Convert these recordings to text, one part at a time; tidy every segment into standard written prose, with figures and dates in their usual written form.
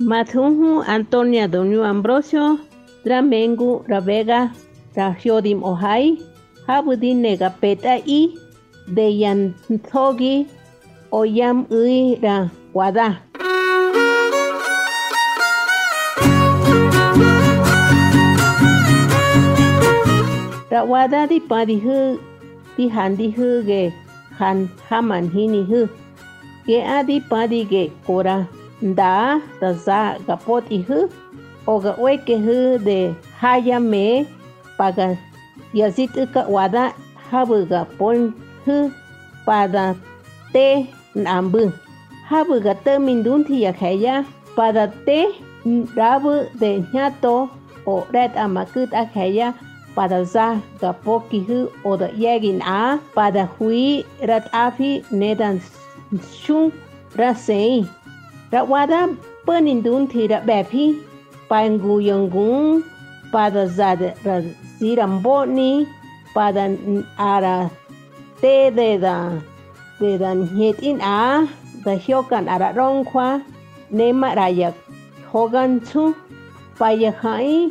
Matunhu Antonia Donio Ambrosio, Dramengu Ravega, Rahiodim Ohai, Habudin Nega Peta I, Deyan Togi, Oyam Ui Ra Wada. Rawada di padihu di handihu ge han haman hinihu ge adi padi ge kora da za gapot ihu oga weke hu de hayame paga yazit ka wada habu ga pon hu pada te nambu habu ga termindun thi ya khaya pada te rabu de nyato o red amakut akhaya pada za gapoki hu o da yagin a pada hui rat afi nedan shung rasei rawada penindun tira bepi pangu yanggung pada za ra ziramboni pada ara te de da nyetin a da hyokan ara rongkwa nema rayak hogan chu paya khai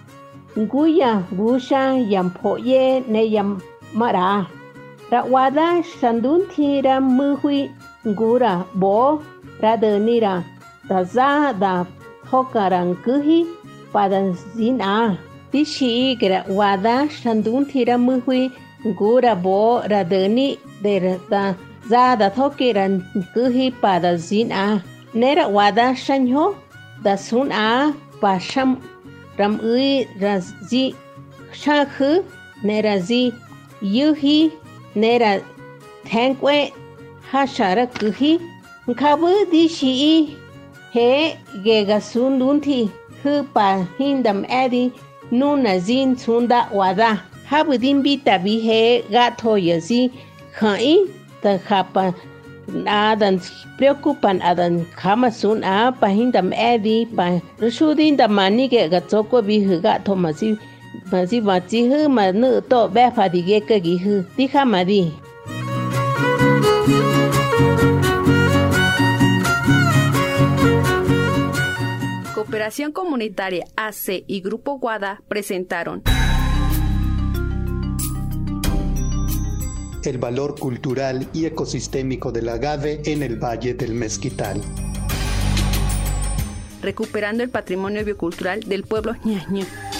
Nguya busha yampoye ne yam mara. Rawada shandun tira muhui ngura bo radenira daza da hokaran kuhi pada zina. Dishi gra wada shandun tira muhui ngura bo radeni de da za da hokiran kuhi pada zina. Nera wada shanyo da sun a pasham ram ui razi shakhu nerazi yuhi nera thankwe hashara kuhi kabu di shi he gega sundunthi hu pa hindam edi nuna zin sunda wada habu din bita bi he gato yazi khai ta khapa adan preocupan adan kama sun a pahindam edi pa rusudin da mani ke gatoko bi huga to masi bachi hu manu to be fadige ke gi hu ti khamadi. Cooperación Comunitaria AC y Grupo Guada presentaron el valor cultural y ecosistémico del agave en el Valle del Mezquital. Recuperando el patrimonio biocultural del pueblo ñañú.